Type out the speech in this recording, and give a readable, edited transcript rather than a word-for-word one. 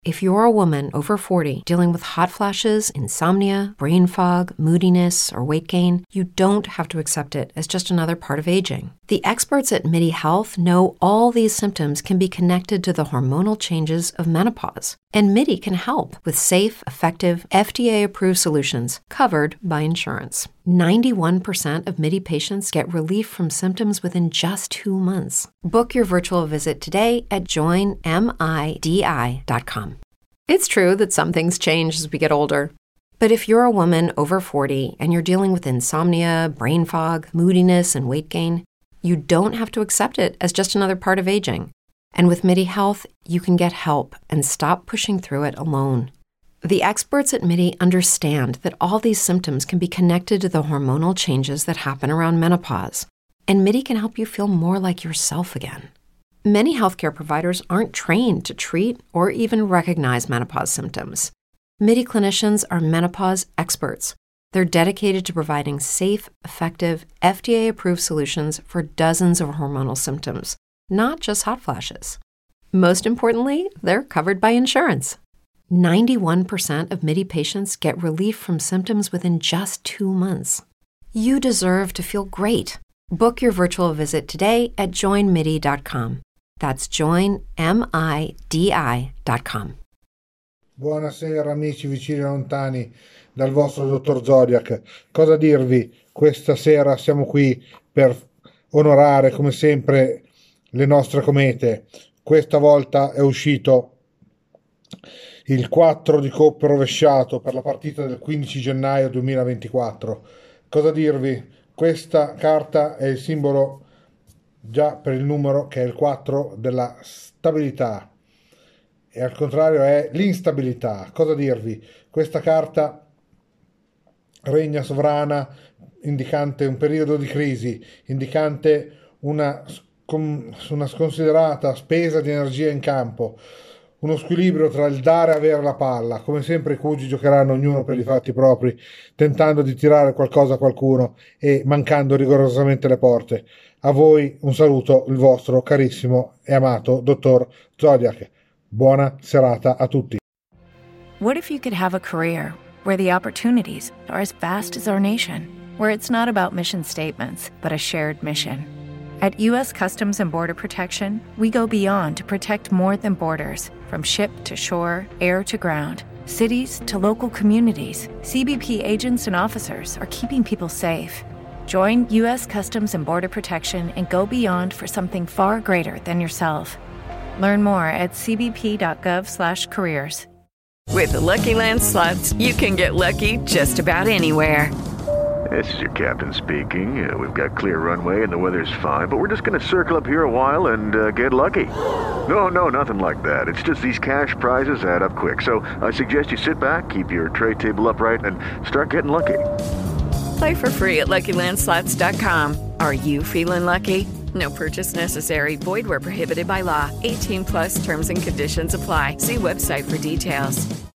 If you're a woman over 40 dealing with hot flashes, insomnia, brain fog, moodiness, or weight gain, you don't have to accept it as just another part of aging. The experts at MIDI Health know all these symptoms can be connected to the hormonal changes of menopause. And MIDI can help with safe, effective, FDA-approved solutions covered by insurance. 91% of MIDI patients get relief from symptoms within just 2 months. Book your virtual visit today at joinmidi.com. It's true that some things change as we get older. But if you're a woman over 40 and you're dealing with insomnia, brain fog, moodiness, and weight gain, you don't have to accept it as just another part of aging. And with MIDI Health, you can get help and stop pushing through it alone. The experts at MIDI understand that all these symptoms can be connected to the hormonal changes that happen around menopause, and MIDI can help you feel more like yourself again. Many healthcare providers aren't trained to treat or even recognize menopause symptoms. MIDI clinicians are menopause experts. They're dedicated to providing safe, effective, FDA-approved solutions for dozens of hormonal symptoms, not just hot flashes. Most importantly, they're covered by insurance. 91% of MIDI patients get relief from symptoms within just 2 months. You deserve to feel great. Book your virtual visit today at joinmidi.com. That's joinmidi.com. Buonasera amici vicini e lontani dal vostro dottor Zodiac. Cosa dirvi? Questa sera siamo qui per onorare come sempre le nostre comete. Questa volta è uscito il 4 di coppe rovesciato per la partita del 15 gennaio 2024. Cosa dirvi? Questa carta è il simbolo già per il numero, che è il 4, della stabilità, e al contrario è l'instabilità. Cosa dirvi? Questa carta regna sovrana, indicante un periodo di crisi, indicante una sconsiderata spesa di energia in campo, uno squilibrio tra il dare e avere la palla. Come sempre i cugi giocheranno ognuno per i fatti propri, tentando di tirare qualcosa a qualcuno e mancando rigorosamente le porte. A voi un saluto, il vostro carissimo e amato dottor Zodiac. Buona serata a tutti. What if you could have a career where the opportunities are as vast as our nation, where it's not about mission statements, but a shared mission? At U.S. Customs and Border Protection, we go beyond to protect more than borders. From ship to shore, air to ground, cities to local communities, CBP agents and officers are keeping people safe. Join U.S. Customs and Border Protection and go beyond for something far greater than yourself. Learn more at cbp.gov/careers. With the Lucky Land Slots, you can get lucky just about anywhere. This is your captain speaking. We've got clear runway and the weather's fine, but we're just going to circle up here a while and get lucky. No, nothing like that. It's just these cash prizes add up quick. So I suggest you sit back, keep your tray table upright, and start getting lucky. Play for free at LuckyLandSlots.com. Are you feeling lucky? No purchase necessary. Void where prohibited by law. 18+ terms and conditions apply. See website for details.